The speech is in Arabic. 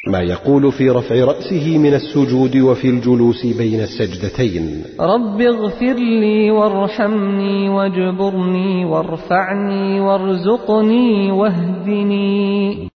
ما يقول في رفع رأسه من السجود وفي الجلوس بين السجدتين: رب اغفر لي وارحمني واجبرني وارفعني وارزقني واهدني.